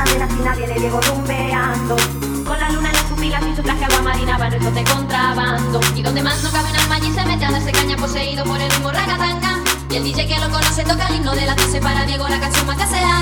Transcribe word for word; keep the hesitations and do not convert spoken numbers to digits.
zona de la esquina viene Diego rumbeando. Con la luna en las pupilas y su traje agua marina va nuestro de contrabando. Y donde más no cabe un alma allí se mete a darse caña poseído por el ritmo ragatanga. Y el D J que lo conoce toca el himno de la trece para Diego la canción más que sea.